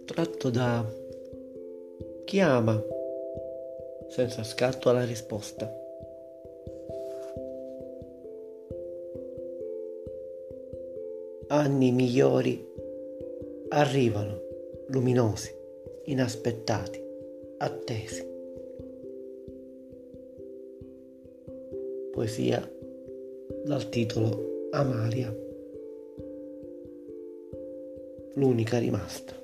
tratto da Chi ama senza scatto alla risposta. Anni migliori arrivano, luminosi, inaspettati, attesi. Poesia dal titolo Amalia, l'unica rimasta.